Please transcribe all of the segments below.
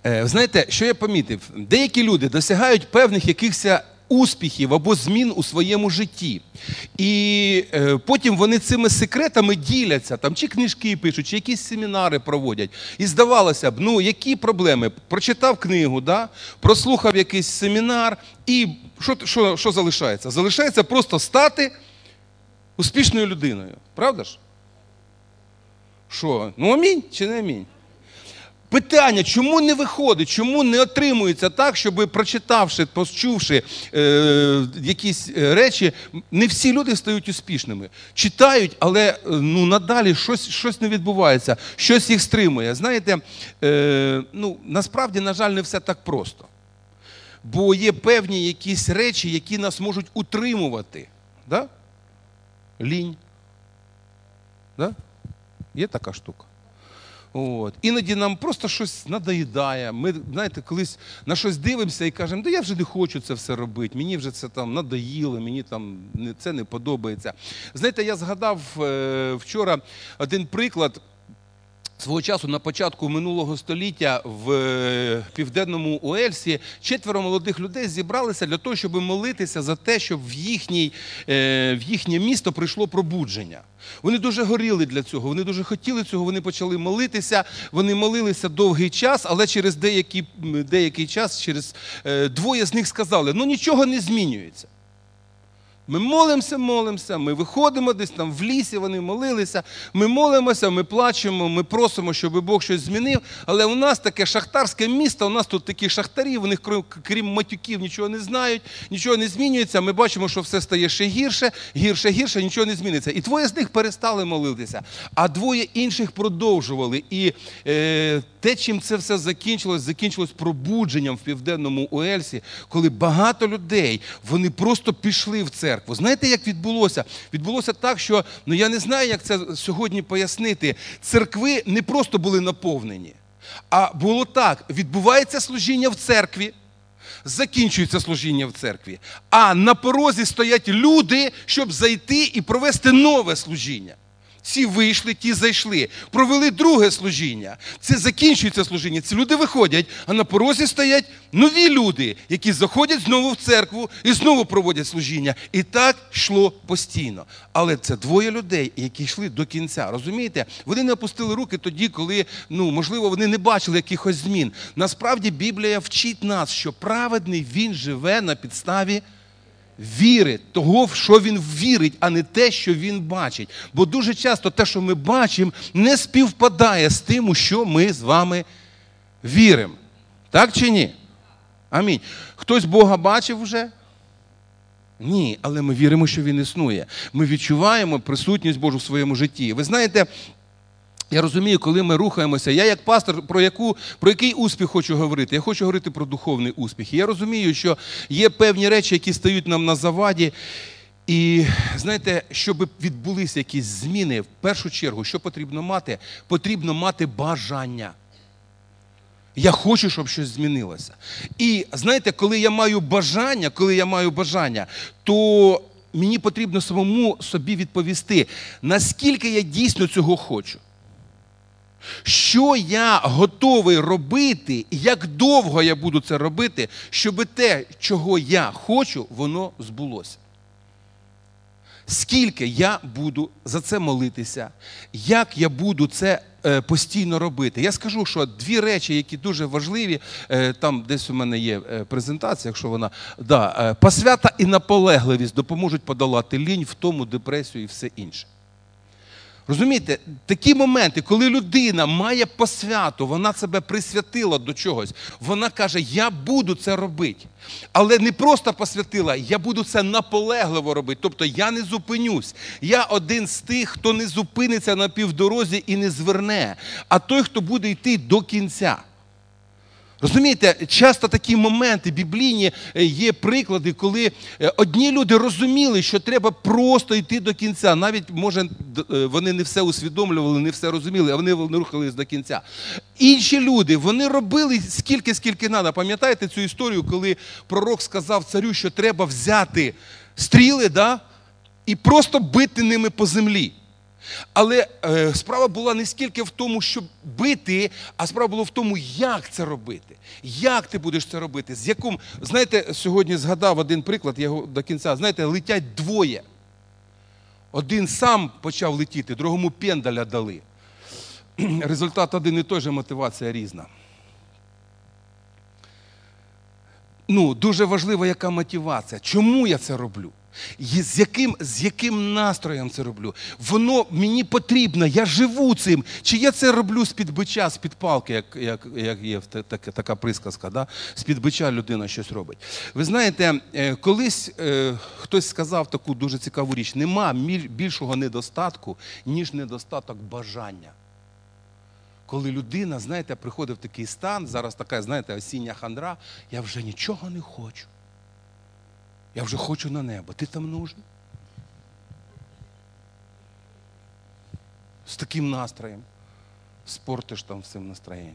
Знаєте, що я помітив? Деякі люди досягають певних якихось успіхів або змін у своєму житті. І потім вони цими секретами діляться, там, чи книжки пишуть, чи якісь семінари проводять. І здавалося б, ну які проблеми? Прочитав книгу, да? Прослухав якийсь семінар, і що залишається? Залишається просто стати успішною людиною. Правда ж? Що? Ну амінь чи не амінь? Питання, чому не виходить, чому не отримується так, щоб прочитавши, почувши якісь речі, не всі люди стають успішними. Читають, але надалі щось не відбувається, щось їх стримує. Знаєте, насправді, на жаль, не все так просто. Бо є певні якісь речі, які нас можуть утримувати. Да? Лінь. Да? Є така штука. Іноді нам просто щось надоїдає. Ми, знаєте, колись на щось дивимося і кажемо, да я вже не хочу це все робити, мені вже це там надоїло, мені там це не подобається. Знаєте, я згадав вчора один приклад. Свого часу на початку минулого століття в Південному Уельсі 4 молодих людей зібралися для того, щоб молитися за те, щоб в їхнє місто прийшло пробудження. Вони дуже горіли для цього, вони дуже хотіли цього, вони почали молитися, вони молилися довгий час, але через деякий час, двоє з них сказали, нічого не змінюється. Ми молимося, ми виходимо десь там в лісі, вони молилися, ми молимося, ми плачемо, ми просимо, щоб Бог щось змінив, але у нас таке шахтарське місто, у нас тут такі шахтарі, вони крім матюків нічого не знають, нічого не змінюється, ми бачимо, що все стає ще гірше, нічого не зміниться. І двоє з них перестали молитися, а двоє інших продовжували. І те, чим це все закінчилось пробудженням в Південному Уельсі, коли багато людей, вони просто пішли в церкву. Знаєте, як відбулося? Відбулося так, що, я не знаю, як це сьогодні пояснити, церкви не просто були наповнені, а було так, відбувається служіння в церкві, закінчується служіння в церкві, а на порозі стоять люди, щоб зайти і провести нове служіння. Ці вийшли, ті зайшли, провели друге служіння. Це закінчується служіння, ці люди виходять, а на порозі стоять нові люди, які заходять знову в церкву і знову проводять служіння. І так йшло постійно. Але це двоє людей, які йшли до кінця. Розумієте? Вони не опустили руки тоді, коли, можливо, вони не бачили якихось змін. Насправді Біблія вчить нас, що праведний він живе на підставі віри, того, в що він вірить, а не те, що він бачить. Бо дуже часто те, що ми бачимо, не співпадає з тим, у що ми з вами віримо. Так чи ні? Амінь. Хтось Бога бачив вже? Ні, але ми віримо, що Він існує. Ми відчуваємо присутність Божу в своєму житті. Ви знаєте, я розумію, коли ми рухаємося, я як пастор, про який успіх хочу говорити? Я хочу говорити про духовний успіх. І я розумію, що є певні речі, які стають нам на заваді. І, знаєте, щоб відбулися якісь зміни, в першу чергу, що потрібно мати? Потрібно мати бажання. Я хочу, щоб щось змінилося. І, знаєте, коли я маю бажання, то мені потрібно самому собі відповісти, наскільки я дійсно цього хочу. Що я готовий робити, і як довго я буду це робити, щоб те, чого я хочу, воно збулося. Скільки я буду за це молитися, як я буду це постійно робити. Я скажу, що дві речі, які дуже важливі, там десь у мене є презентація, якщо вона, посвята і наполегливість допоможуть подолати лінь, втому, депресію і все інше. Розумієте, такі моменти, коли людина має посвяту, вона себе присвятила до чогось, вона каже, я буду це робити. Але не просто посвятила, я буду це наполегливо робити, тобто я не зупинюсь. Я один з тих, хто не зупиниться на півдорозі і не зверне, а той, хто буде йти до кінця. Розумієте, часто такі моменти біблійні є приклади, коли одні люди розуміли, що треба просто йти до кінця. Навіть, може, вони не все усвідомлювали, не все розуміли, а вони рухались до кінця. Інші люди, вони робили скільки треба. Пам'ятаєте цю історію, коли пророк сказав царю, що треба взяти стріли, і просто бити ними по землі. Але справа була не стільки в тому, щоб бити, а справа була в тому, як це робити. Як ти будеш це робити? З яким, знаєте, сьогодні згадав один приклад, я його до кінця, знаєте, летять двоє. Один сам почав летіти, другому пендаля дали. Результат один і той же, мотивація різна. Дуже важливо, яка мотивація. Чому я це роблю? З яким настроєм це роблю? Воно мені потрібно, я живу цим. Чи я це роблю з-під бича, з-під палки, як є така присказка, да? З-під бича людина щось робить. Ви знаєте, колись хтось сказав таку дуже цікаву річ. Нема більшого недостатку, ніж недостаток бажання. Коли людина, знаєте, приходить в такий стан, зараз така, знаєте, осіння хандра, я вже нічого не хочу. Я вже хочу на небо. Ти там нужен? З таким настроєм спортиш там всім настроєння.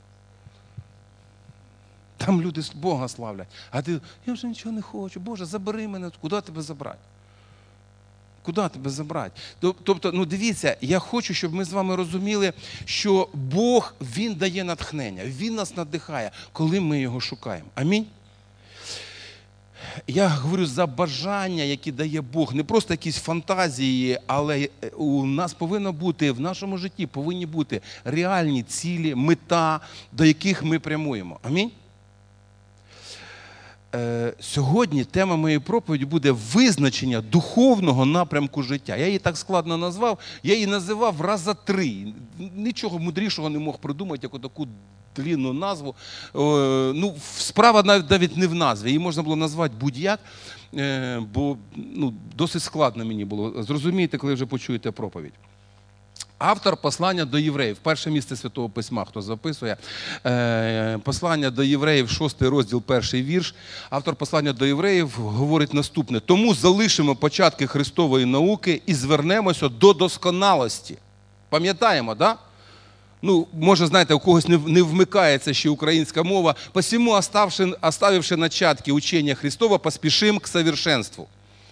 Там люди Бога славлять. А ти, я вже нічого не хочу. Боже, забери мене. Куди тебе забрати? Куди тебе забрати? Тобто, дивіться, я хочу, щоб ми з вами розуміли, що Бог, Він дає натхнення, Він нас надихає, коли ми Його шукаємо. Амінь? Я говорю за бажання, які дає Бог, не просто якісь фантазії, але у нас повинно бути, в нашому житті повинні бути реальні цілі, мета, до яких ми прямуємо. Амінь? Сьогодні тема моєї проповіді буде визначення духовного напрямку життя. Я її так складно назвав, я її називав раза 3. Нічого мудрішого не мог придумати, як таку длинну назву. Справа навіть не в назві, її можна було назвати будь-як, бо досить складно мені було. Зрозумієте, коли вже почуєте проповідь. Автор послання до євреїв, перше місце Святого Письма, хто записує, послання до євреїв, 6 розділ, 1 вірш. Автор послання до євреїв говорить наступне. Тому залишимо початки Христової науки і звернемося до досконалості. Пам'ятаємо, так? Да? Може, знаєте, у когось не вмикається ще українська мова. Посему, оставивши начатки учения Христова, поспешим к совершенству.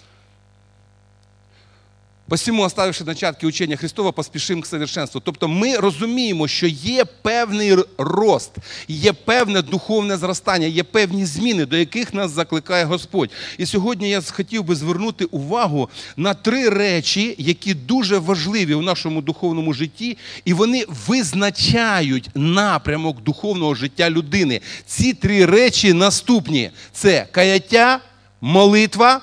Посему, оставивши начатки учення Христова, поспішимо к совершенству. Тобто ми розуміємо, що є певний рост, є певне духовне зростання, є певні зміни, до яких нас закликає Господь. І сьогодні я хотів би звернути увагу на 3 речі, які дуже важливі в нашому духовному житті, і вони визначають напрямок духовного життя людини. Ці 3 речі наступні. Це каяття, молитва.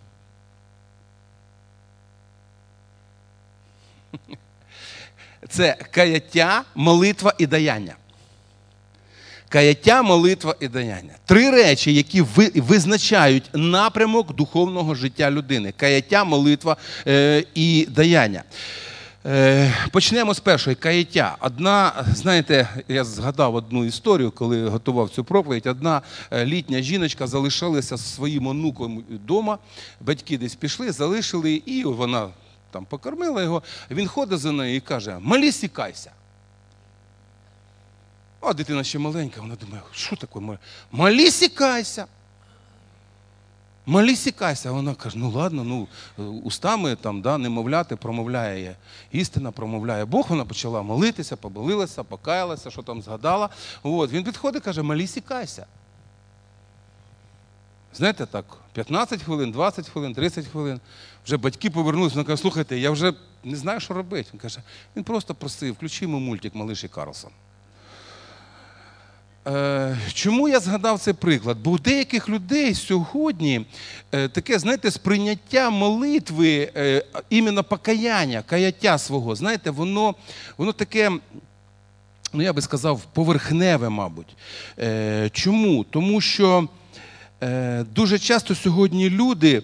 Це каяття, молитва і даяння. Каяття, молитва і даяння. 3 речі, які визначають напрямок духовного життя людини. Каяття, молитва і даяння. Почнемо з першої. Каяття. Знаєте, я згадав одну історію, коли готував цю проповідь. Одна літня жіночка залишилася зі своїм онуком вдома. Батьки десь пішли, залишили, і вона там покормила його, він ходить за нею і каже: «Молись і кайся». А дитина ще маленька, вона думає, що таке? «Молись і кайся». «Молись і кайся». Вона каже, ладно, устами немовляти промовляє істина, промовляє Бог. Вона почала молитися, помолилася, покаялася, що там згадала. Він підходить і каже: «Молись і кайся». Знаєте, так, 15 хвилин, 20 хвилин, 30 хвилин. Вже батьки повернулися, вона каже: «Слухайте, я вже не знаю, що робити». Він каже, він просто просив: «Включи йому мультик «Малиш і Карлсон». Чому я згадав цей приклад? Бо у деяких людей сьогодні таке, знаєте, сприйняття молитви, іменно покаяння, каяття свого, знаєте, воно таке, я би сказав, поверхневе, мабуть. Чому? Тому що дуже часто сьогодні люди,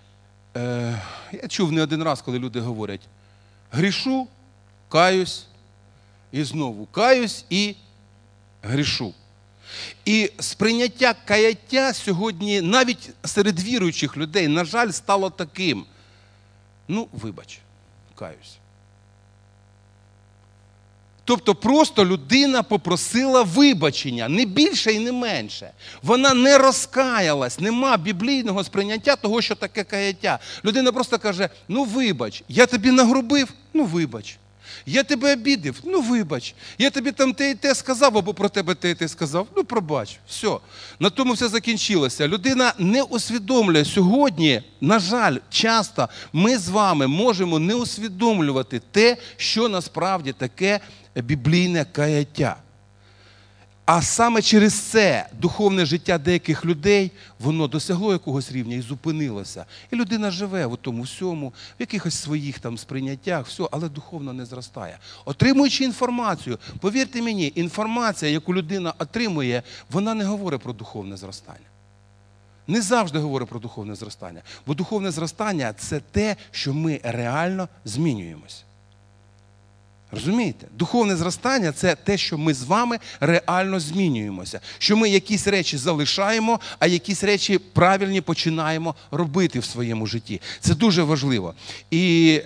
я чув не один раз, коли люди говорять: грішу, каюсь, і знову каюсь і грішу. І сприйняття каяття сьогодні навіть серед віруючих людей, на жаль, стало таким: вибач, каюсь. Тобто просто людина попросила вибачення, не більше і не менше. Вона не розкаялась, нема біблійного сприйняття того, що таке каяття. Людина просто каже, ну вибач, я тобі нагрубив, ну вибач. Я тебе обідив, ну вибач. Я тобі там те і те сказав, або про тебе те і те сказав, ну пробач. Все. На тому все закінчилося. Людина не усвідомлює сьогодні, на жаль, часто ми з вами можемо не усвідомлювати те, що насправді таке біблійне каяття. А саме через це духовне життя деяких людей, воно досягло якогось рівня і зупинилося. І людина живе в тому всьому, в якихось своїх там сприйняттях, все, але духовно не зростає. Отримуючи інформацію, повірте мені, інформація, яку людина отримує, вона не говорить про духовне зростання. Не завжди говорить про духовне зростання. Бо духовне зростання – це те, що ми реально змінюємося. Розумієте? Духовне зростання – це те, що ми з вами реально змінюємося. Що ми якісь речі залишаємо, а якісь речі правильні починаємо робити в своєму житті. Це дуже важливо. І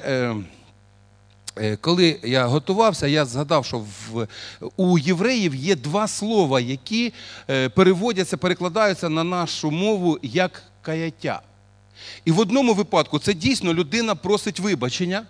коли я готувався, я згадав, що у євреїв є два слова, які перекладаються на нашу мову як каяття. І в одному випадку це дійсно людина просить вибачення.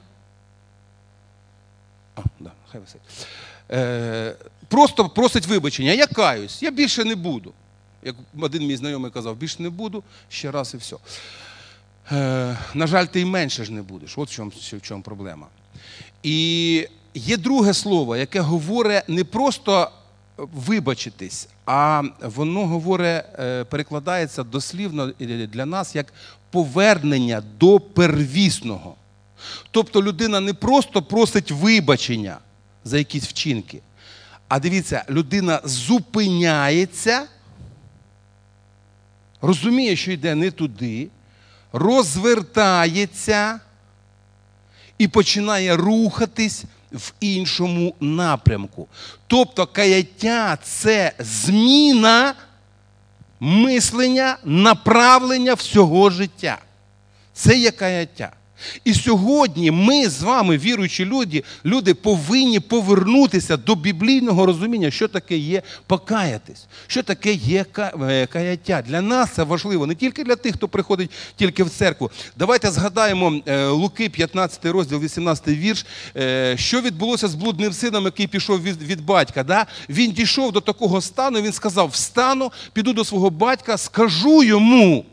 Хай висить. Просто просить вибачення. Я каюсь, я більше не буду. Як один мій знайомий казав, більше не буду, ще раз і все. На жаль, ти і менше ж не будеш. От в чому проблема. І є друге слово, яке говорить не просто вибачитись, а воно говорить, перекладається дослівно для нас як повернення до первісного. Тобто людина не просто просить вибачення за якісь вчинки, а дивіться, людина зупиняється, розуміє, що йде не туди, розвертається і починає рухатись в іншому напрямку. Тобто каяття – це зміна мислення, направлення всього життя. Це є каяття. І сьогодні ми з вами, віруючі люди повинні повернутися до біблійного розуміння, що таке є покаятись, що таке є каяття. Для нас це важливо, не тільки для тих, хто приходить тільки в церкву. Давайте згадаємо Луки, 15 розділ, 18 вірш, що відбулося з блудним сином, який пішов від батька. Да? Він дійшов до такого стану, він сказав, встану, піду до свого батька, скажу йому,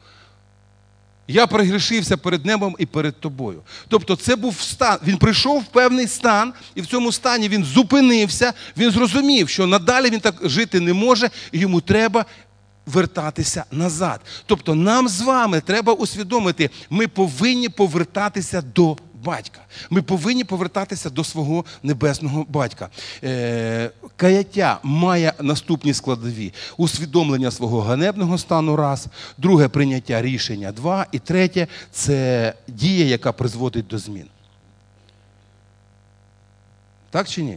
я прогрішився перед небом і перед тобою. Тобто це був стан, він прийшов в певний стан, і в цьому стані він зупинився, він зрозумів, що надалі він так жити не може, і йому треба вертатися назад. Тобто нам з вами треба усвідомити, ми повинні повертатися до батька. Ми повинні повертатися до свого небесного батька. Каяття має наступні складові. Усвідомлення свого ганебного стану – раз. Друге – прийняття рішення – два. І третє – це дія, яка призводить до змін. Так чи ні?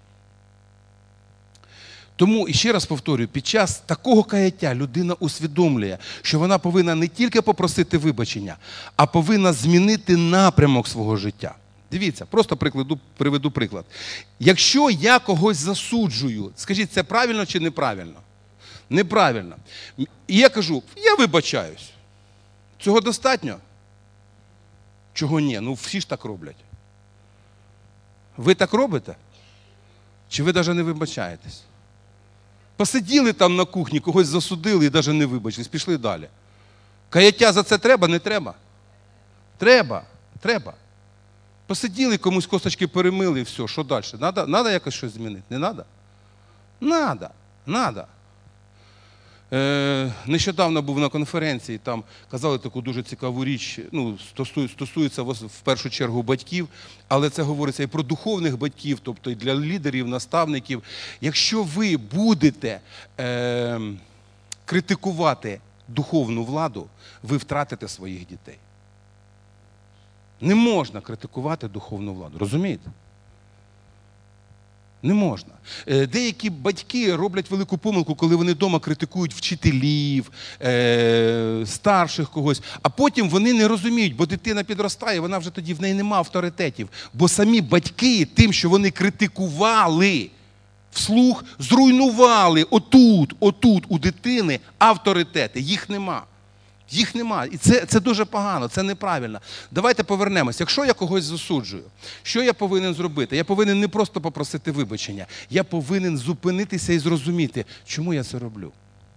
Тому, і ще раз повторюю, під час такого каяття людина усвідомлює, що вона повинна не тільки попросити вибачення, а повинна змінити напрямок свого життя. Дивіться, просто приведу приклад. Якщо я когось засуджую, скажіть, це правильно чи неправильно? Неправильно. І я кажу, я вибачаюсь. Цього достатньо? Чого ні? Ну всі ж так роблять. Ви так робите? Чи ви навіть не вибачаєтесь? Посиділи там на кухні, когось засудили і навіть не вибачились, пішли далі. Каяття за це треба, не треба? Треба. Посиділи, комусь косточки перемили і все, що далі? Надо якось щось змінити? Не треба? Надо. Нещодавно був на конференції, там казали таку дуже цікаву річ, стосується в першу чергу батьків, але це говориться і про духовних батьків, тобто і для лідерів, наставників. Якщо ви будете критикувати духовну владу, ви втратите своїх дітей. Не можна критикувати духовну владу, розумієте? Не можна. Деякі батьки роблять велику помилку, коли вони вдома критикують вчителів, старших когось, а потім вони не розуміють, бо дитина підростає, вона вже тоді в неї нема авторитетів. Бо самі батьки тим, що вони критикували, вслух зруйнували отут у дитини авторитети. Їх нема. Їх нема. І це дуже погано, це неправильно. Давайте повернемось. Якщо я когось засуджую, що я повинен зробити? Я повинен не просто попросити вибачення. Я повинен зупинитися і зрозуміти, чому я це роблю.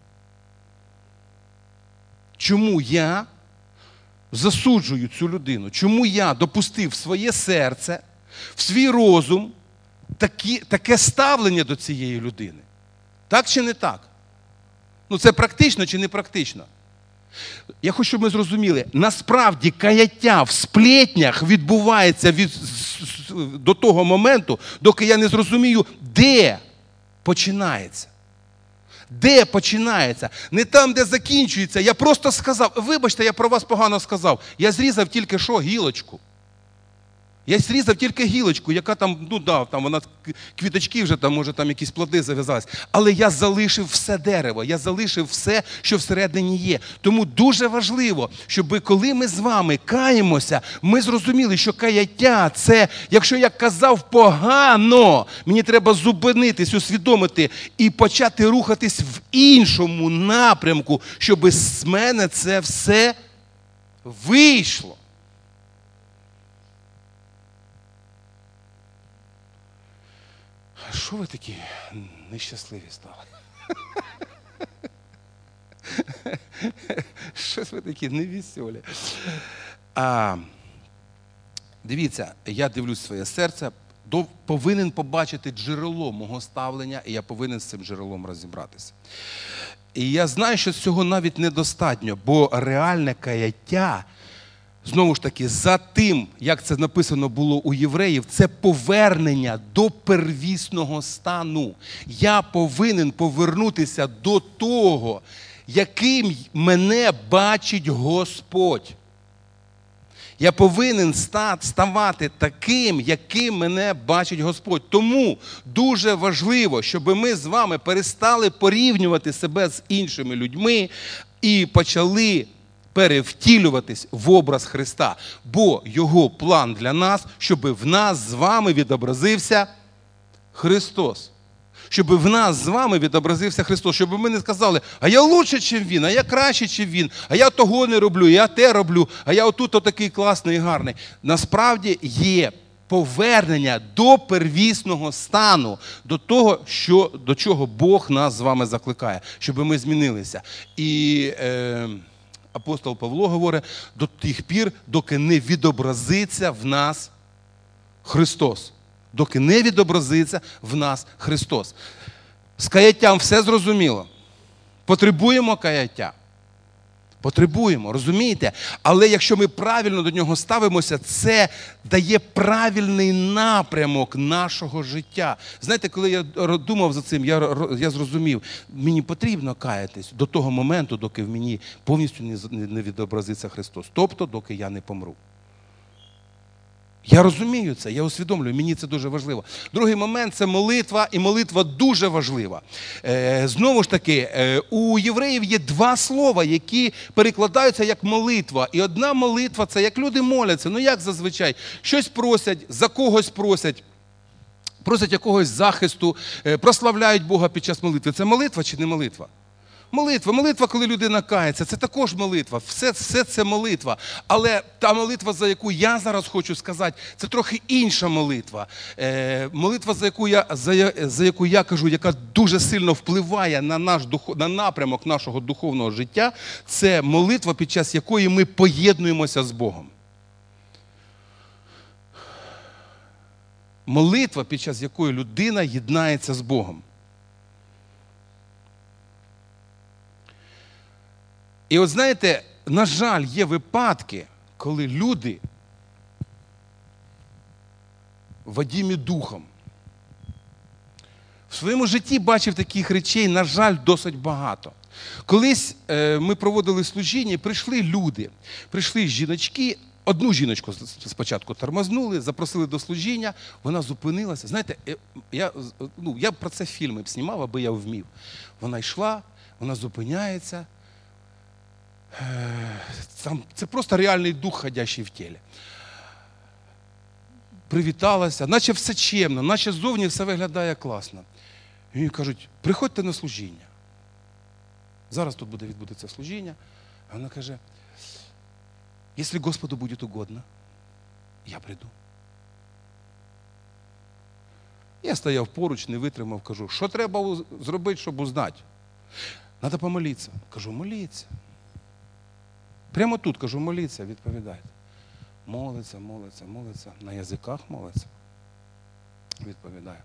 Чому я засуджую цю людину? Чому я допустив в своє серце, в свій розум таке ставлення до цієї людини? Так чи не так? Це практично чи не практично? Я хочу, щоб ми зрозуміли, насправді каяття в сплетнях відбувається до того моменту, доки я не зрозумію, де починається. Де починається? Не там, де закінчується. Я просто сказав, вибачте, я про вас погано сказав. Я зрізав тільки що гілочку. Я зрізав тільки гілочку, яка там, там вона квіточки вже, може там якісь плоди зав'язались. Але я залишив все дерево, я залишив все, що всередині є. Тому дуже важливо, щоб коли ми з вами каємося, ми зрозуміли, що каяття – це, якщо я казав погано, мені треба зупинитись, усвідомити і почати рухатись в іншому напрямку, щоб з мене це все вийшло. Що ви такі нещасливі стали? Щось ви такі невеселі. Дивіться, я дивлюсь своє серце, повинен побачити джерело мого ставлення, і я повинен з цим джерелом розібратися. І я знаю, що цього навіть недостатньо, бо реальне каяття, знову ж таки, за тим, як це написано було у євреїв, це повернення до первісного стану. Я повинен повернутися до того, яким мене бачить Господь. Я повинен ставати таким, яким мене бачить Господь. Тому дуже важливо, щоб ми з вами перестали порівнювати себе з іншими людьми і почали перевтілюватись в образ Христа. Бо Його план для нас, щоб в нас з вами відобразився Христос. Щоб в нас з вами відобразився Христос. Щоб ми не сказали, а я лучше, ніж Він, а я краще, ніж Він, а я того не роблю, я те роблю, а я отут отакий класний і гарний. Насправді є повернення до первісного стану, до того, до чого Бог нас з вами закликає, щоб ми змінилися. І апостол Павло говорить, до тих пір, доки не відобразиться в нас Христос. Доки не відобразиться в нас Христос. З каяттям все зрозуміло. Потребуємо каяття. Потребуємо, розумієте? Але якщо ми правильно до нього ставимося, це дає правильний напрямок нашого життя. Знаєте, коли я думав за цим, я зрозумів, мені потрібно каятись до того моменту, доки в мені повністю не відобразиться Христос. Тобто, доки я не помру. Я розумію це, я усвідомлюю, мені це дуже важливо. Другий момент – це молитва, і молитва дуже важлива. Знову ж таки, у євреїв є два слова, які перекладаються як молитва. І одна молитва – це як люди моляться, як зазвичай, щось просять, за когось просять якогось захисту, прославляють Бога під час молитви. Це молитва чи не молитва? Молитва, коли людина кається, це також молитва. Все це молитва. Але та молитва, за яку я зараз хочу сказати, це трохи інша молитва. Молитва, за яку я кажу, яка дуже сильно впливає на напрямок нашого духовного життя, це молитва, під час якої ми поєднуємося з Богом. Молитва, під час якої людина єднається з Богом. І от знаєте, на жаль, є випадки, коли люди водімі духом. В своєму житті бачив таких речей, на жаль, досить багато. Колись ми проводили служіння, прийшли люди, прийшли жіночки, Одну жіночку спочатку тормознули, запросили до служіння, вона зупинилася. Знаєте, я про це фільми б знімав, аби я вмів. Вона йшла, вона зупиняється. Це просто реальний дух, ходячий в тілі. Привіталася, наче все чемно, наче ззовні все виглядає класно. І їй кажуть, приходьте на служіння. Зараз тут буде відбудеться служіння. А вона каже, якщо Господу буде угодно, я прийду. Я стояв поруч, не витримав, кажу, що треба зробити, щоб узнати? Треба помолитися. Кажу, моліться. Прямо тут, кажу, моліться, відповідайте. Молиться, на язиках молиться. Відповідає.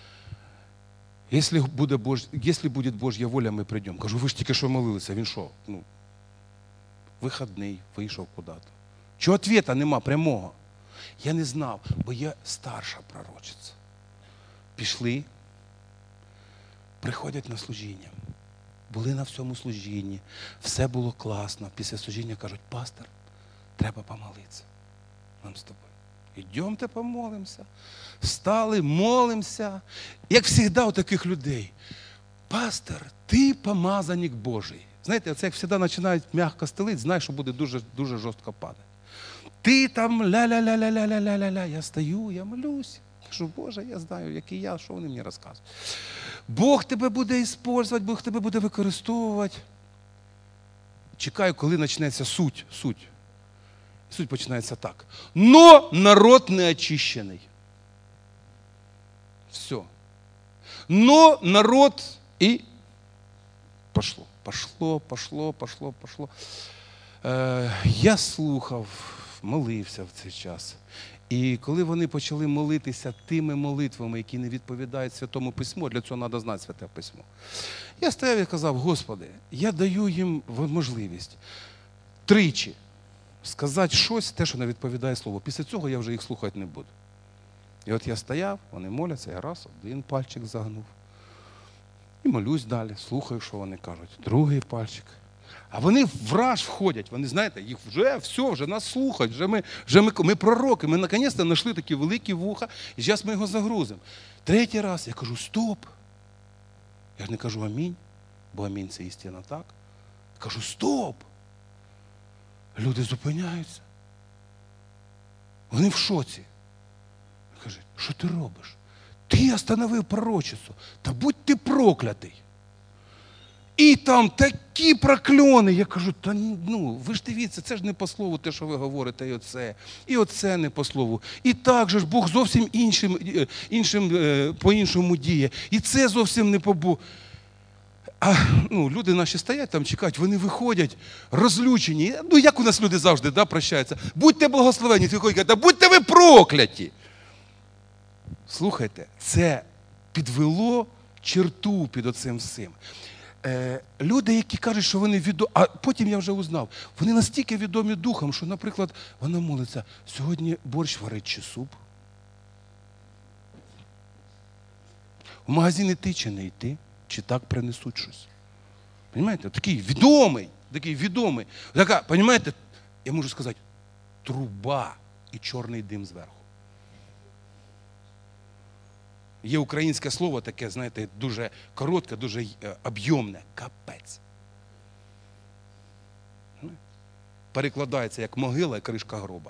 Якщо буде Божья воля, ми прийдемо. Кажу, ви ж тільки що молилися, він що? Вихідний, вийшов куди-то. Чого відповіді нема прямого? Я не знав, бо я старша пророчиця. Пішли, приходять на служіння. Були на всьому служінні, все було класно. Після служіння кажуть, пастор, треба помолитися. Нам з тобою. Ідемте помолимося. Встали, молимося. Як завжди у таких людей. Пастор, ти помазаник Божий. Знаєте, це як завжди починають м'яко стелити, знаєш, що буде дуже, дуже жорстко падати. Ти там ля-ля-ля-ля-ля-ля-ля-ля. Я стою, я молюсь. Кажу, Боже, я знаю, який я, що вони мені розказують. Бог тебе буде використовувати, Бог тебе буде використовувати. Чекаю, коли почнеться суть. Суть починається так. Но народ не очищений. Все. Но народ і пошло. Я слухав, молився в цей час. І коли вони почали молитися тими молитвами, які не відповідають Святому Письму, для цього треба знати Святе Письмо. Я стояв і казав, Господи, я даю їм можливість тричі сказати щось, те, що не відповідає Слову. Після цього я вже їх слухати не буду. І от я стояв, вони моляться, я раз, один пальчик загнув. І молюсь далі, слухаю, що вони кажуть. Другий пальчик. А вони враж входять, вони, знаєте, їх вже нас слухають, ми пророки, ми наконець-то знайшли такі великі вуха, і зараз ми його загрузимо. Третій раз я кажу, стоп. Я ж не кажу амінь, бо амінь це істина, так? Я кажу, стоп. Люди зупиняються. Вони в шоці. Кажуть, що ти робиш? Ти остановив пророчицю, та будь ти проклятий. І там такі прокльони. Я кажу, ви ж дивіться, це ж не по слову те, що ви говорите, і оце не по слову. І так же ж Бог зовсім по-іншому діє. І це зовсім не по Богу. А люди наші стоять там, чекають, вони виходять розлючені. Як у нас люди завжди прощаються. Будьте благословені, ти виходять, та будьте ви прокляті. Слухайте, це підвело черту під оцим всім. Люди, які кажуть, що вони відомі, а потім я вже узнав, вони настільки відомі духом, що, наприклад, вона молиться, сьогодні борщ варить чи суп? В магазин іти чи не йти? Чи так принесуть щось? Понимаєте? Такий відомий. Така, понимаєте, я можу сказати, труба і чорний дим зверху. Є українське слово таке, знаєте, дуже коротке, дуже об'ємне. Капець. Перекладається як могила і кришка гроба.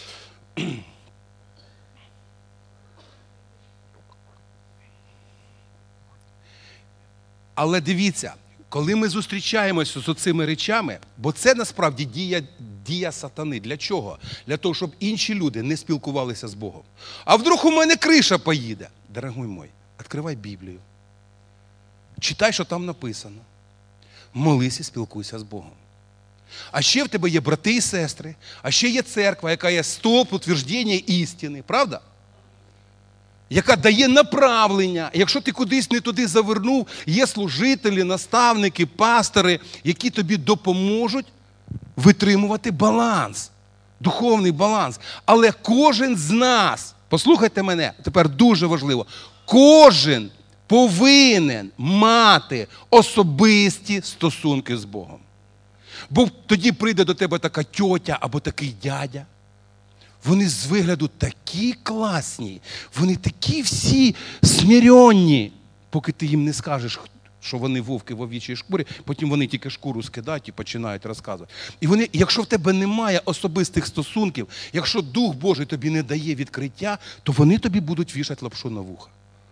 Але дивіться, коли ми зустрічаємося з цими речами, бо це насправді дія сатани. Для чого? Для того, щоб інші люди не спілкувалися з Богом. А вдруг у мене криша поїде? Дорогой мой, відкривай Біблію. Читай, що там написано. Молись і спілкуйся з Богом. А ще в тебе є брати і сестри, а ще є церква, яка є стовп утвердження істини, правда? Яка дає направлення. Якщо ти кудись не туди завернув, є служителі, наставники, пастори, які тобі допоможуть витримувати баланс, духовний баланс. Але кожен з нас, послухайте мене, тепер дуже важливо, кожен повинен мати особисті стосунки з Богом. Бо тоді прийде до тебе така тьотя або такий дядя, Вони з вигляду такі класні, вони такі всі смиренні, поки ти їм не скажеш, що вони вовки в овічій шкурі, потім вони тільки шкуру скидають і починають розказувати. І вони, якщо в тебе немає особистих стосунків, якщо Дух Божий тобі не дає відкриття, то вони тобі будуть вішати лапшу на вуха.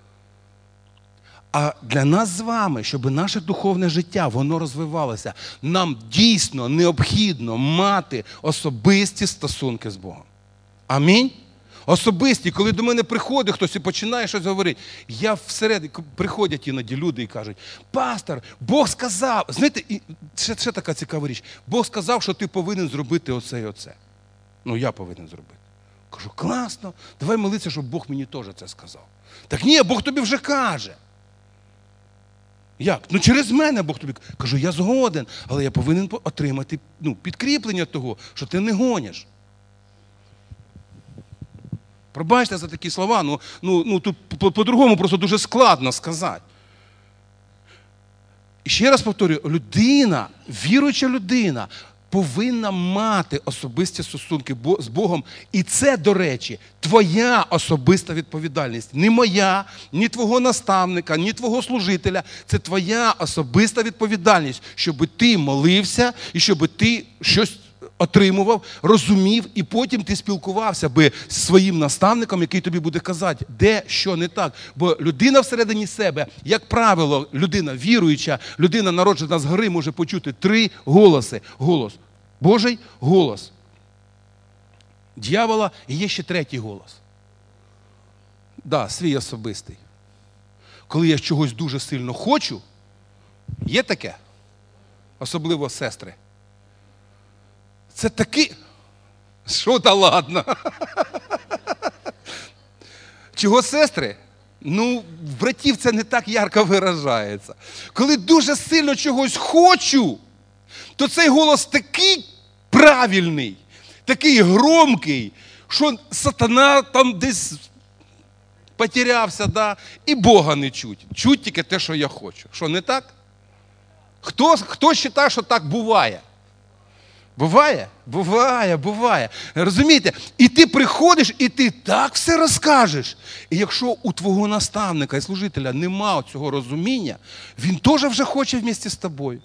А для нас з вами, щоб наше духовне життя, воно розвивалося, нам дійсно необхідно мати особисті стосунки з Богом. Амінь? Особисті, коли до мене приходить хтось і починає щось говорити, я всередині, приходять іноді люди і кажуть, пастор, Бог сказав, знаєте, і ще така цікава річ, Бог сказав, що ти повинен зробити оце і оце. Ну, я повинен зробити. Кажу, класно, давай молитися, щоб Бог мені теж це сказав. Так ні, Бог тобі вже каже. Як? Ну через мене Бог тобі каже. Кажу, я згоден, але я повинен отримати підкріплення того, що ти не гониш. Пробачте за такі слова, тут по-другому просто дуже складно сказати. І ще раз повторюю, людина, віруюча людина, повинна мати особисті стосунки з Богом. І це, до речі, твоя особиста відповідальність. Не моя, ні твого наставника, ні твого служителя. Це твоя особиста відповідальність, щоб ти молився і щоб ти щось отримував, розумів, і потім ти спілкувався би з своїм наставником, який тобі буде казати, де, що не так. Бо людина всередині себе, як правило, людина віруюча, людина, народжена згори, може почути 3 голоси. Голос Божий, голос дьявола і є ще 3-й голос. Да, свій особистий. Коли я чогось дуже сильно хочу, є таке, особливо сестри. Це таки... Що та ладно? Чого сестри? Ну, в братів це не так ярко виражається. Коли дуже сильно чогось хочу, то цей голос такий правильний, такий громкий, що сатана там десь потерявся, да? І Бога не чуть. Чуть тільки те, що я хочу. Що, не так? Хто вважає, що так буває? Буває? Буває. Розумієте? І ти приходиш, і ти так все розкажеш. І якщо у твого наставника і служителя немає цього розуміння, він теж вже хоче вместе з тобою.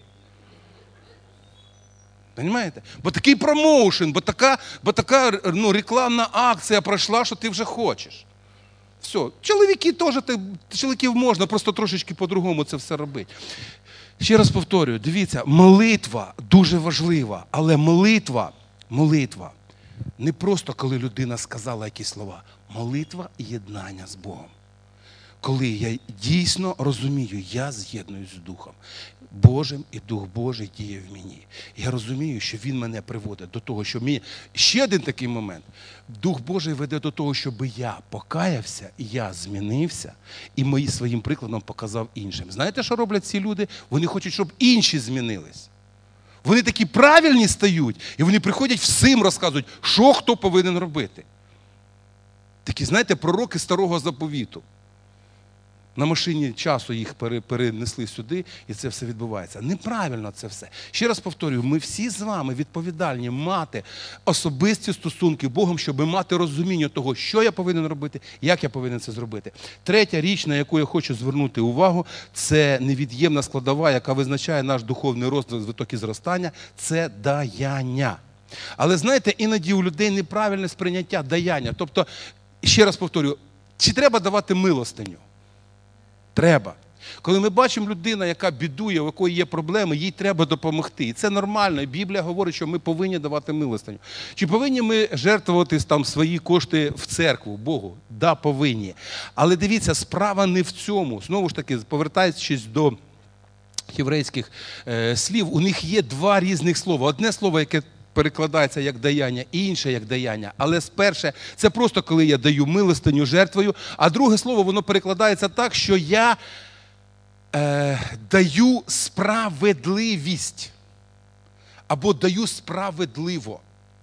Понимаєте? Бо такий промоушен, бо така рекламна акція пройшла, що ти вже хочеш. Все. Чоловіків можна, просто трошечки по-другому це все робити. Ще раз повторюю, дивіться, молитва дуже важлива, але молитва не просто, коли людина сказала якісь слова. Молитва і єднання з Богом. Коли я дійсно розумію, я з'єднуюсь з Духом Божим, і Дух Божий діє в мені. Я розумію, що Він мене приводить до того, що мені... Ще один такий момент. Дух Божий веде до того, щоб я покаявся, і я змінився, і своїм прикладом показав іншим. Знаєте, що роблять ці люди? Вони хочуть, щоб інші змінились. Вони такі правильні стають, і вони приходять всім розказують, що хто повинен робити. Такі, знаєте, пророки Старого Заповіту. На машині часу їх перенесли сюди, і це все відбувається. Неправильно це все. Ще раз повторюю, ми всі з вами відповідальні мати особисті стосунки з Богом, щоб мати розуміння того, що я повинен робити, як я повинен це зробити. 3-я річ, на яку я хочу звернути увагу, це невід'ємна складова, яка визначає наш духовний розвиток і зростання, це даяння. Але знаєте, іноді у людей неправильне сприйняття даяння. Тобто, ще раз повторюю, чи треба давати милостиню? Треба. Коли ми бачимо людину, яка бідує, у якої є проблеми, їй треба допомогти. І це нормально. І Біблія говорить, що ми повинні давати милостиню. Чи повинні ми жертвувати там свої кошти в церкву, Богу? Да, повинні. Але дивіться, справа не в цьому. Знову ж таки, повертаючись до єврейських слів, у них є 2 різних слова. Одне слово, яке перекладається як даяння, і інше як даяння. Але перше, це просто коли я даю милостиню жертвою, а друге слово, воно перекладається так, що я даю справедливість або даю справедливо.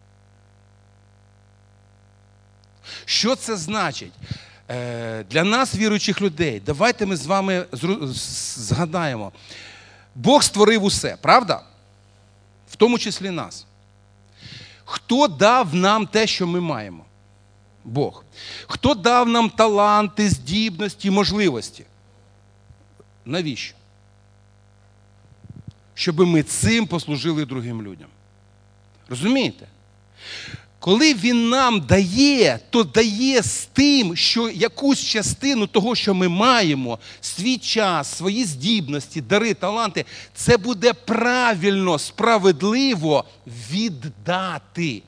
Що це значить? Для нас, віруючих людей, давайте ми з вами згадаємо. Бог створив усе, правда? В тому числі нас. Хто дав нам те, що ми маємо? Бог. Хто дав нам таланти, здібності, можливості? Навіщо? Щоб ми цим послужили другим людям. Розумієте? Коли Він нам дає, то дає з тим, що якусь частину того, що ми маємо, свій час, свої здібності, дари, таланти, це буде правильно, справедливо віддати.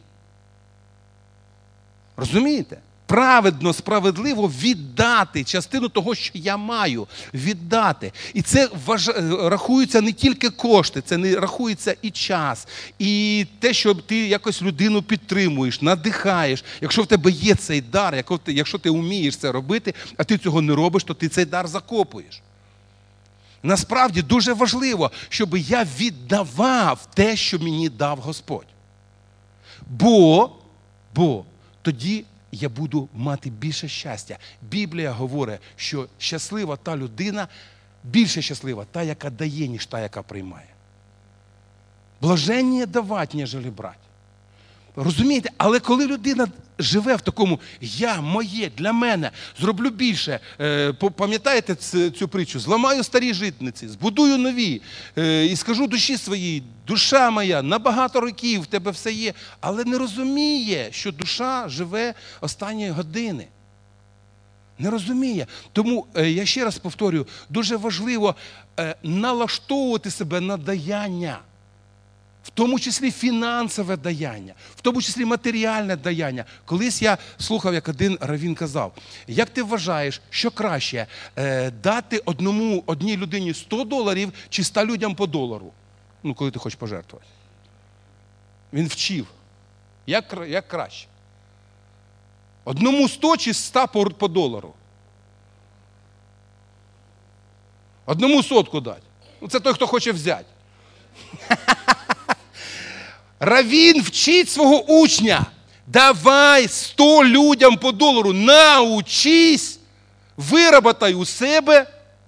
Розумієте? Праведно, справедливо віддати частину того, що я маю, віддати. І це рахуються не тільки кошти, це не рахується і час, і те, що ти якось людину підтримуєш, надихаєш. Якщо в тебе є цей дар, якщо ти вмієш це робити, а ти цього не робиш, то ти цей дар закопуєш. Насправді дуже важливо, щоб я віддавав те, що мені дав Господь. Бо тоді я буду мати більше щастя. Біблія говорить, що щаслива та людина, більше щаслива та, яка дає, ніж та, яка приймає. Блаженніє давати, ніжели брати. Розумієте? Але коли людина живе в такому «я, моє, для мене, зроблю більше», пам'ятаєте цю притчу? «Зламаю старі житниці, збудую нові, і скажу душі своїй, душа моя, на багато років в тебе все є», але не розуміє, що душа живе останні години. Не розуміє. Тому, я ще раз повторюю, дуже важливо налаштовувати себе на даяння. В тому числі фінансове даяння, в тому числі матеріальне даяння. Колись я слухав, як один раввін казав, як ти вважаєш, що краще, дати одній людині $100 чи 100 людям по $1? Ну, коли ти хочеш пожертвувати. Він вчив. Як краще? Одному 100 чи 100 по $1? Одному 100 дати. Ну, це той, хто хоче взяти. Раввін вчить свого учня, давай 100 людям по $1, научись, вироботай у себе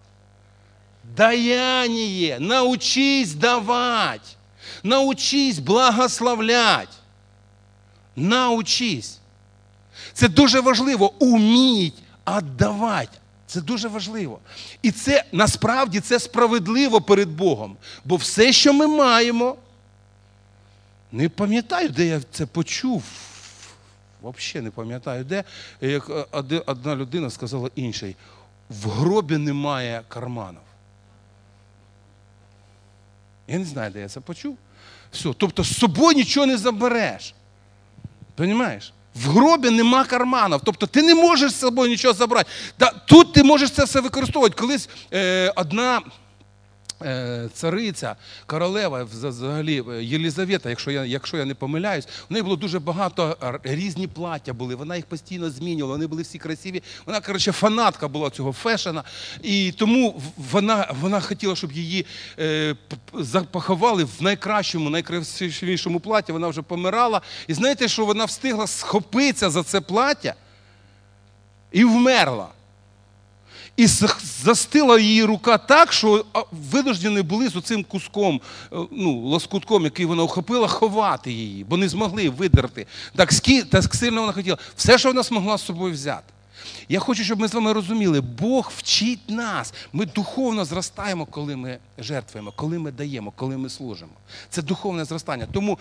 даяние, научись давати, научись благословляти, научись. Це дуже важливо, уміть віддавати. Це дуже важливо. І це, насправді, це справедливо перед Богом. Бо все, що ми маємо, не пам'ятаю, де я це почув, взагалі не пам'ятаю, де, як одна людина сказала іншій, в гробі немає карманів. Я не знаю, де я це почув. Все, тобто з собою нічого не забереш. Розумієш? В гробі нема карманів, тобто ти не можеш з собою нічого забрати. Тут ти можеш це все використовувати. Колись одна цариця, королева, взагалі, Єлизавета, якщо я не помиляюсь, в неї було дуже багато, різні плаття були, вона їх постійно змінювала, вони були всі красиві. Вона, коротше, фанатка була цього фешена, і тому вона хотіла, щоб її поховали в найкращому, найкрасивішому платі, вона вже помирала. І знаєте, що вона встигла схопитися за це плаття і вмерла. І застила її рука так, що винуждені були з оцим куском, лоскутком, який вона охопила, ховати її, бо не змогли видерти. Так сильно вона хотіла. Все, що вона змогла з собою взяти. Я хочу, щоб ми з вами розуміли, Бог вчить нас. Ми духовно зростаємо, коли ми жертвуємо, коли ми даємо, коли ми служимо. Це духовне зростання. Тому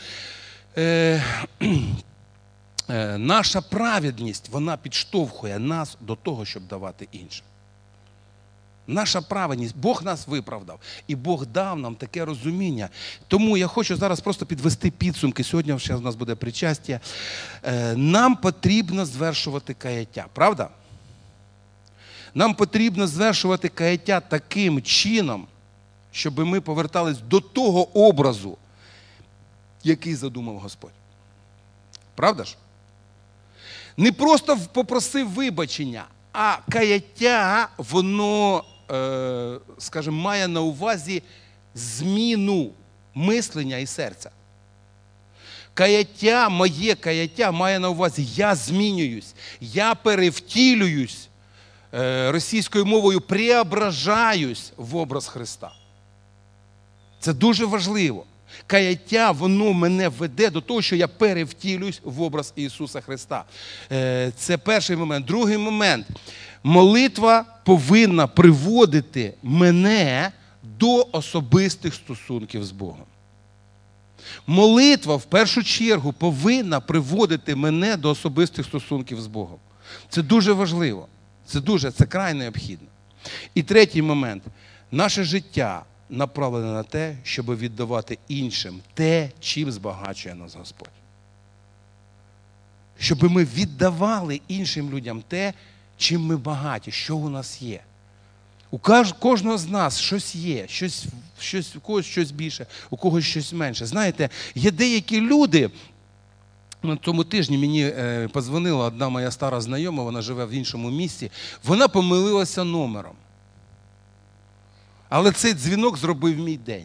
наша праведність, вона підштовхує нас до того, щоб давати іншим. Наша праведність, Бог нас виправдав. І Бог дав нам таке розуміння. Тому я хочу зараз просто підвести підсумки. Сьогодні ще у нас буде причастя. Нам потрібно звершувати каяття. Правда? Нам потрібно звершувати каяття таким чином, щоб ми повертались до того образу, який задумав Господь. Правда ж? Не просто попросив вибачення, а каяття, воно, скажімо, має на увазі зміну мислення і серця. Каяття, моє каяття має на увазі, я змінююсь, я перевтілююсь, російською мовою преображаюсь в образ Христа. Це дуже важливо. Каяття, воно мене веде до того, що я перевтілююсь в образ Ісуса Христа. Це перший момент. Другий момент. Молитва повинна приводити мене до особистих стосунків з Богом. Молитва, в першу чергу, повинна приводити мене до особистих стосунків з Богом. Це дуже важливо. Це край необхідно. І третій момент. Наше життя направлене на те, щоб віддавати іншим те, чим збагачує нас Господь. Щоб ми віддавали іншим людям те, чим ми багаті, що у нас є. У кожного з нас щось є, у когось щось більше, у когось щось менше. Знаєте, є деякі люди, на тому тижні мені подзвонила одна моя стара знайома, вона живе в іншому місті, вона помилилася номером. Але цей дзвінок зробив мій день.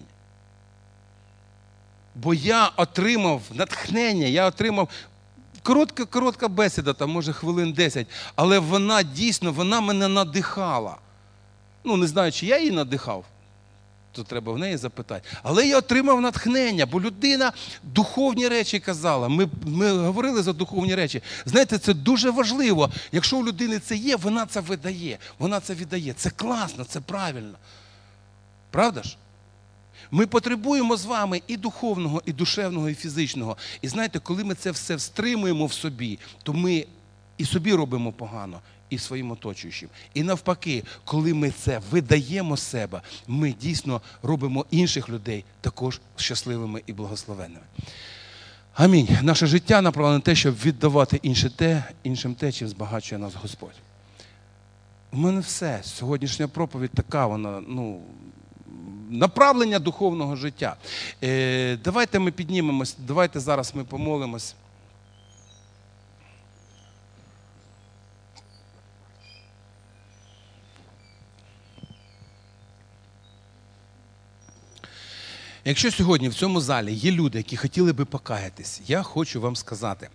Бо я отримав натхнення, я отримав коротка бесіда, там, може, хвилин 10, але вона дійсно, вона мене надихала. Ну, не знаю, чи я її надихав, то треба в неї запитати. Але я отримав натхнення, бо людина духовні речі казала. Ми говорили за духовні речі. Знаєте, це дуже важливо. Якщо у людини це є, вона це видає. Вона це віддає. Це класно, це правильно. Правда ж? Ми потребуємо з вами і духовного, і душевного, і фізичного. І знаєте, коли ми це все стримуємо в собі, то ми і собі робимо погано, і своїм оточуючим. І навпаки, коли ми це видаємо з себе, ми дійсно робимо інших людей також щасливими і благословенними. Амінь. Наше життя направлене на те, щоб віддавати іншим те, чим збагачує нас Господь. У мене все. Сьогоднішня проповідь така, вона, направлення духовного життя. Давайте ми піднімемось, давайте зараз ми помолимось. Якщо сьогодні в цьому залі є люди, які хотіли би покаятись, я хочу вам сказати,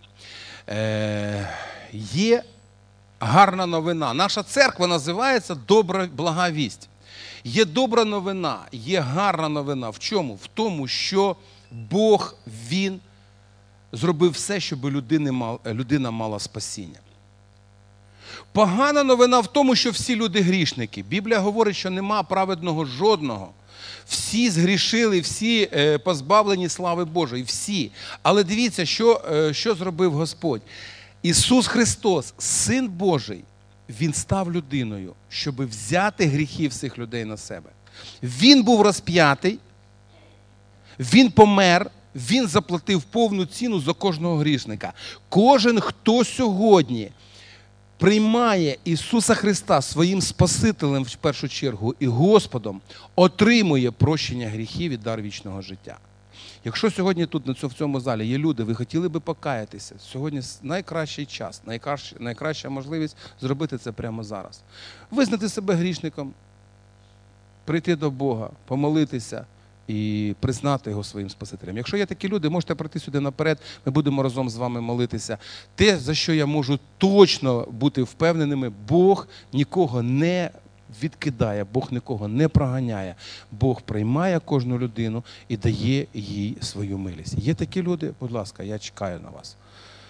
є гарна новина. Наша церква називається «Добра блага вість». Є добра новина, є гарна новина. В чому? В тому, що Бог, Він зробив все, щоб людина мала спасіння. Погана новина в тому, що всі люди грішники. Біблія говорить, що нема праведного жодного. Всі згрішили, всі позбавлені слави Божої, всі. Але дивіться, що зробив Господь. Ісус Христос, Син Божий, Він став людиною, щоб взяти гріхи всіх людей на себе. Він був розп'ятий, Він помер, Він заплатив повну ціну за кожного грішника. Кожен, хто сьогодні приймає Ісуса Христа своїм Спасителем в першу чергу і Господом, отримує прощення гріхів і дар вічного життя. Якщо сьогодні тут, в цьому залі, є люди, ви хотіли би покаятися, сьогодні найкращий час, найкраща можливість зробити це прямо зараз. Визнати себе грішником, прийти до Бога, помолитися і признати Його своїм Спасителем. Якщо є такі люди, можете прийти сюди наперед, ми будемо разом з вами молитися. Те, за що я можу точно бути впевненими, Бог нікого не відкидає, Бог нікого не проганяє. Бог приймає кожну людину і дає їй свою милість. Є такі люди? Будь ласка, я чекаю на вас.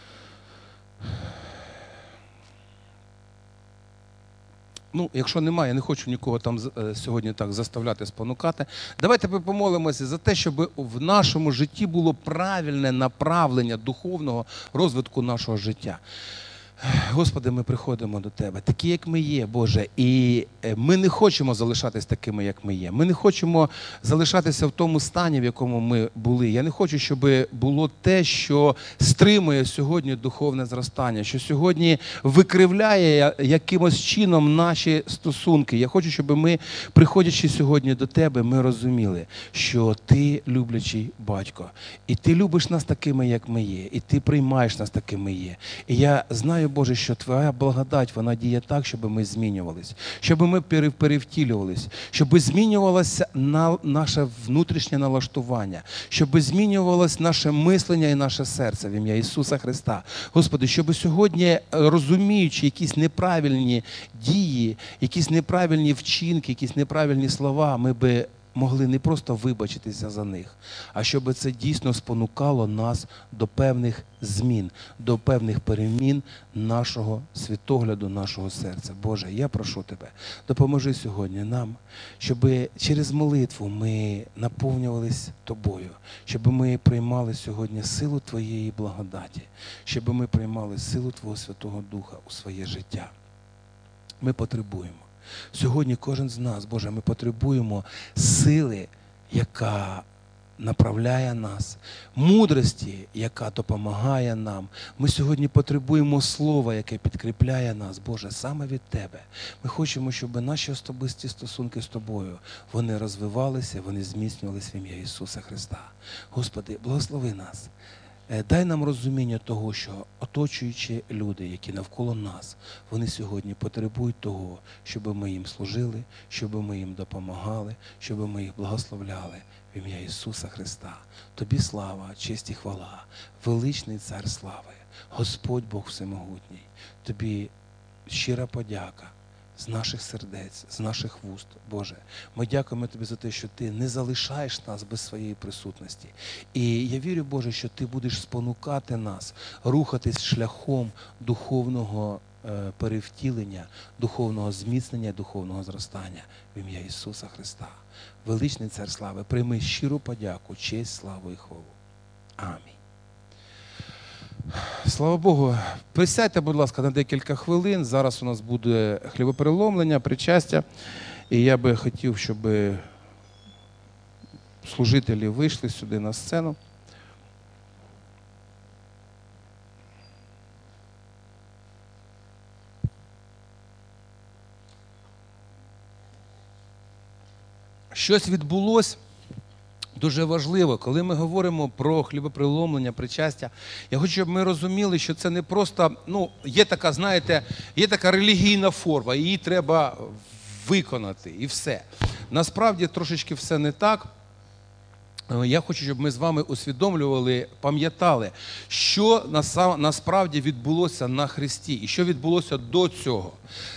Якщо немає, я не хочу нікого там сьогодні так заставляти, спонукати. Давайте ми помолимося за те, щоб в нашому житті було правильне направлення духовного розвитку нашого життя. Господи, ми приходимо до Тебе, такі, як ми є, Боже, і ми не хочемо залишатись такими, як ми є. Ми не хочемо залишатися в тому стані, в якому ми були. Я не хочу, щоб було те, що стримує сьогодні духовне зростання, що сьогодні викривляє якимось чином наші стосунки. Я хочу, щоб ми, приходячи сьогодні до Тебе, ми розуміли, що Ти люблячий батько, і Ти любиш нас такими, як ми є, і Ти приймаєш нас такими є. І я знаю, Боже, що Твоя благодать, вона діє так, щоб ми змінювались, щоб ми перевтілювались, щоб змінювалося наше внутрішнє налаштування, щоб змінювалось наше мислення і наше серце в ім'я Ісуса Христа. Господи, щоб сьогодні, розуміючи якісь неправильні дії, якісь неправильні вчинки, якісь неправильні слова, ми би могли не просто вибачитися за них, а щоб це дійсно спонукало нас до певних змін, до певних перемін нашого світогляду, нашого серця. Боже, я прошу Тебе, допоможи сьогодні нам, щоб через молитву ми наповнювались Тобою, щоб ми приймали сьогодні силу Твоєї благодаті, щоб ми приймали силу Твого Святого Духа у своє життя. Ми потребуємо. Сьогодні кожен з нас, Боже, ми потребуємо сили, яка направляє нас, мудрості, яка допомагає нам. Ми сьогодні потребуємо слова, яке підкріпляє нас, Боже, саме від Тебе. Ми хочемо, щоб наші особисті стосунки з Тобою, вони розвивалися, вони зміцнювалися в ім'я Ісуса Христа. Господи, благослови нас. Дай нам розуміння того, що оточуючі люди, які навколо нас, вони сьогодні потребують того, щоб ми їм служили, щоб ми їм допомагали, щоб ми їх благословляли в ім'я Ісуса Христа. Тобі слава, честь і хвала, величний Цар слави, Господь Бог Всемогутній. Тобі щира подяка з наших сердець, з наших вуст, Боже. Ми дякуємо Тобі за те, що Ти не залишаєш нас без своєї присутності. І я вірю, Боже, що Ти будеш спонукати нас рухатись шляхом духовного перевтілення, духовного зміцнення, духовного зростання в ім'я Ісуса Христа. Величний Цар слави, прийми щиру подяку, честь, славу і хвалу. Амінь. Слава Богу. Присядьте, будь ласка, на декілька хвилин. Зараз у нас буде хлібопереломлення, причастя. І я би хотів, щоб служителі вийшли сюди на сцену. Щось відбулося дуже важливо, коли ми говоримо про хлібопреломлення, причастя. Я хочу, щоб ми розуміли, що це не просто, є така, знаєте, є така релігійна форма, її треба виконати і все. Насправді трошечки все не так. Я хочу, щоб ми з вами усвідомлювали, пам'ятали, що насправді відбулося на Христі і що відбулося до цього.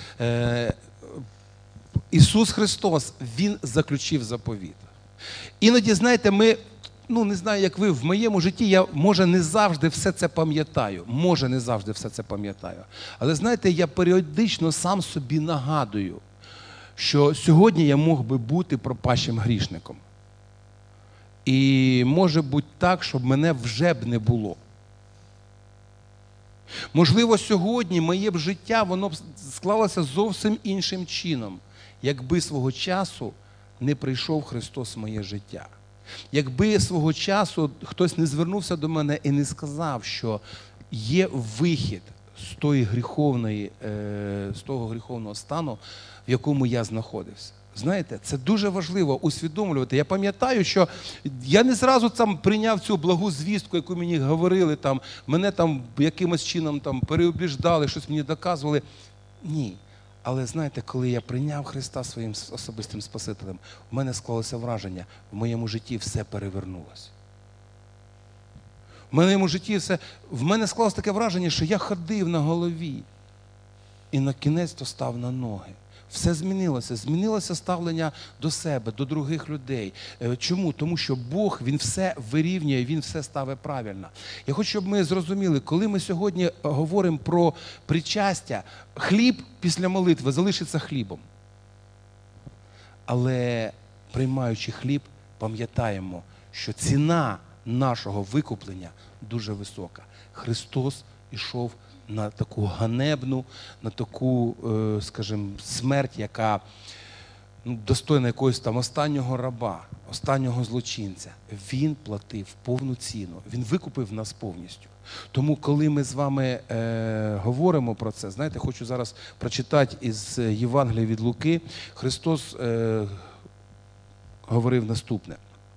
Ісус Христос, Він заключив заповіт. Іноді, знаєте, ми, не знаю, як ви, в моєму житті я, може, не завжди все це пам'ятаю. Але, знаєте, я періодично сам собі нагадую, що сьогодні я мог би бути пропащим грішником. І може бути так, щоб мене вже б не було. Можливо, сьогодні моє б життя, воно б склалося зовсім іншим чином, якби свого часу не прийшов Христос в моє життя. Якби свого часу хтось не звернувся до мене і не сказав, що є вихід з того гріховного стану, в якому я знаходився. Знаєте, це дуже важливо усвідомлювати. Я пам'ятаю, що я не зразу прийняв цю благу звістку, яку мені говорили, мене якимось чином переубіждали, щось мені доказували. Ні. Але знаєте, коли я прийняв Христа своїм особистим Спасителем, в мене склалося враження, в моєму житті все перевернулося. В мене склалося таке враження, що я ходив на голові і на кінець-то став на ноги. Все змінилося. Змінилося ставлення до себе, до других людей. Чому? Тому що Бог, Він все вирівнює, Він все ставить правильно. Я хочу, щоб ми зрозуміли, коли ми сьогодні говоримо про причастя, хліб після молитви залишиться хлібом. Але приймаючи хліб, пам'ятаємо, що ціна нашого викуплення дуже висока. Христос ішов на таку ганебну, на таку, скажімо, смерть, яка достойна якогось останнього раба, останнього злочинця. Він платив повну ціну, Він викупив нас повністю. Тому, коли ми з вами говоримо про це, знаєте, хочу зараз прочитати із Євангелія від Луки. Христос говорив наступне.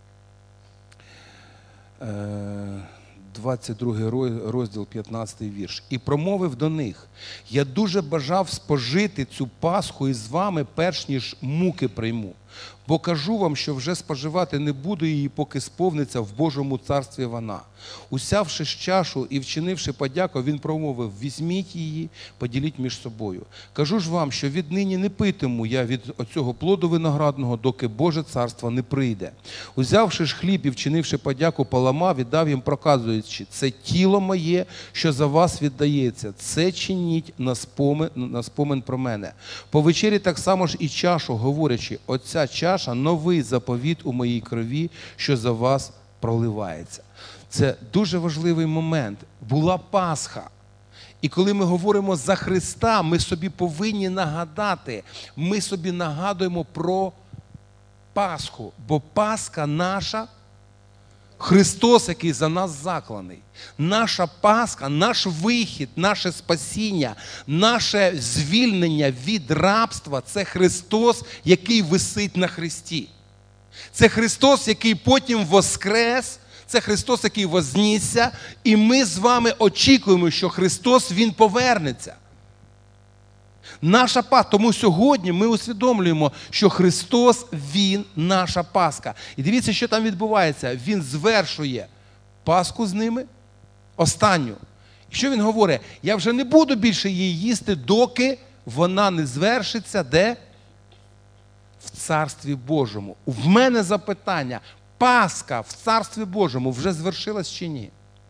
22 розділ, 15 вірш. «І промовив до них: я дуже бажав спожити цю Пасху із вами, перш ніж муки прийму. Бо кажу вам, що вже споживати не буду її, поки сповниться в Божому царстві вона. Усявши ж чашу і вчинивши подяку, він промовив: візьміть її, поділіть між собою. Кажу ж вам, що віднині не питиму я від оцього плоду виноградного, доки Боже царство не прийде. Узявши ж хліб і вчинивши подяку, поламав і дав їм, проказуючи: це тіло моє, що за вас віддається. Це чиніть на спомин про мене. По вечері так само ж і чашу, говорячи: оця чаша – новий заповіт у моїй крові, що за вас проливається. Це дуже важливий момент. Була Пасха. І коли ми говоримо за Христа, ми собі повинні нагадати, ми собі нагадуємо про Пасху. Бо Пасха наша, Христос, який за нас закланий. Наша Пасха, наш вихід, наше спасіння, наше звільнення від рабства – це Христос, який висить на хресті. Це Христос, який потім воскрес, це Христос, який вознісся, і ми з вами очікуємо, що Христос, Він повернеться. Наша Пасха. Тому сьогодні ми усвідомлюємо, що Христос, Він наша Пасха. І дивіться, що там відбувається. Він звершує Пасху з ними, останню. І що Він говорить? Я вже не буду більше її їсти, доки вона не звершиться, де? В Царстві Божому. В мене запитання. Пасха в Царстві Божому вже звершилась чи ні?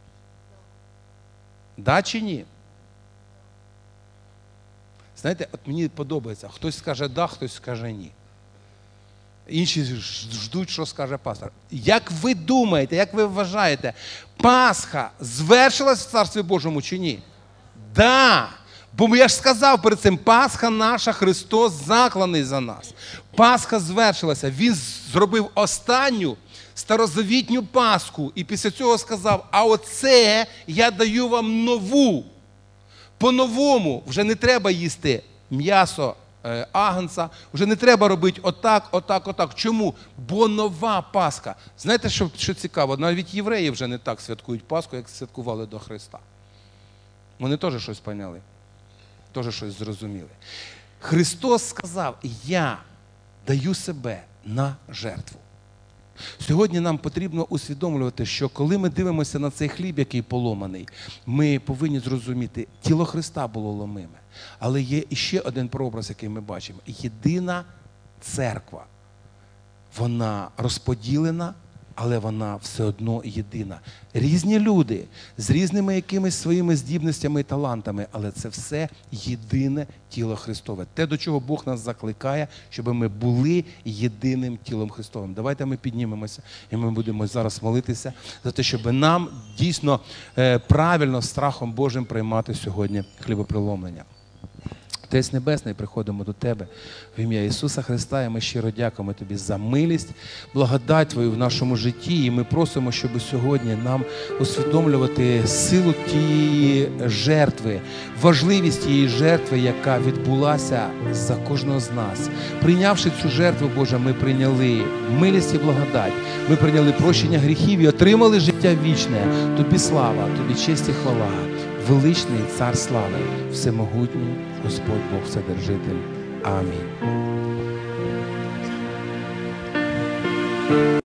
Да чи ні? Знаєте, от мені подобається. Хтось скаже да, хтось скаже ні. Інші ждуть, що скаже пастор. Як ви думаєте, як ви вважаєте, Пасха звершилась в Царстві Божому чи ні? Да. Бо я ж сказав перед цим, Пасха наша, Христос закланий за нас. Пасха звершилася. Він зробив останню старозавітню Пасху. І після цього сказав: а оце я даю вам нову. По-новому вже не треба їсти м'ясо агнця, вже не треба робити отак, отак, отак. Чому? Бо нова Пасха. Знаєте, що цікаво? Навіть євреї вже не так святкують Пасху, як святкували до Христа. Вони теж щось поняли, теж щось зрозуміли. Христос сказав: я даю себе на жертву. Сьогодні нам потрібно усвідомлювати, що коли ми дивимося на цей хліб, який поломаний, ми повинні зрозуміти, тіло Христа було ломиме. Але є ще один прообраз, який ми бачимо. Єдина церква. Вона розподілена, але вона все одно єдина. Різні люди з різними якимись своїми здібностями і талантами, але це все єдине тіло Христове. Те, до чого Бог нас закликає, щоб ми були єдиним тілом Христовим. Давайте ми піднімемося і ми будемо зараз молитися за те, щоб нам дійсно правильно, страхом Божим приймати сьогодні хлібопреломлення. Отець Небесний, приходимо до Тебе в ім'я Ісуса Христа, і ми щиро дякуємо Тобі за милість, благодать Твою в нашому житті, і ми просимо, щоб сьогодні нам усвідомлювати силу тієї жертви, важливість тієї жертви, яка відбулася за кожного з нас. Прийнявши цю жертву, Боже, ми прийняли милість і благодать, ми прийняли прощення гріхів і отримали життя вічне. Тобі слава, Тобі честь і хвала. Величний Цар слави, всемогутній Господь Бог Вседержитель. Амінь.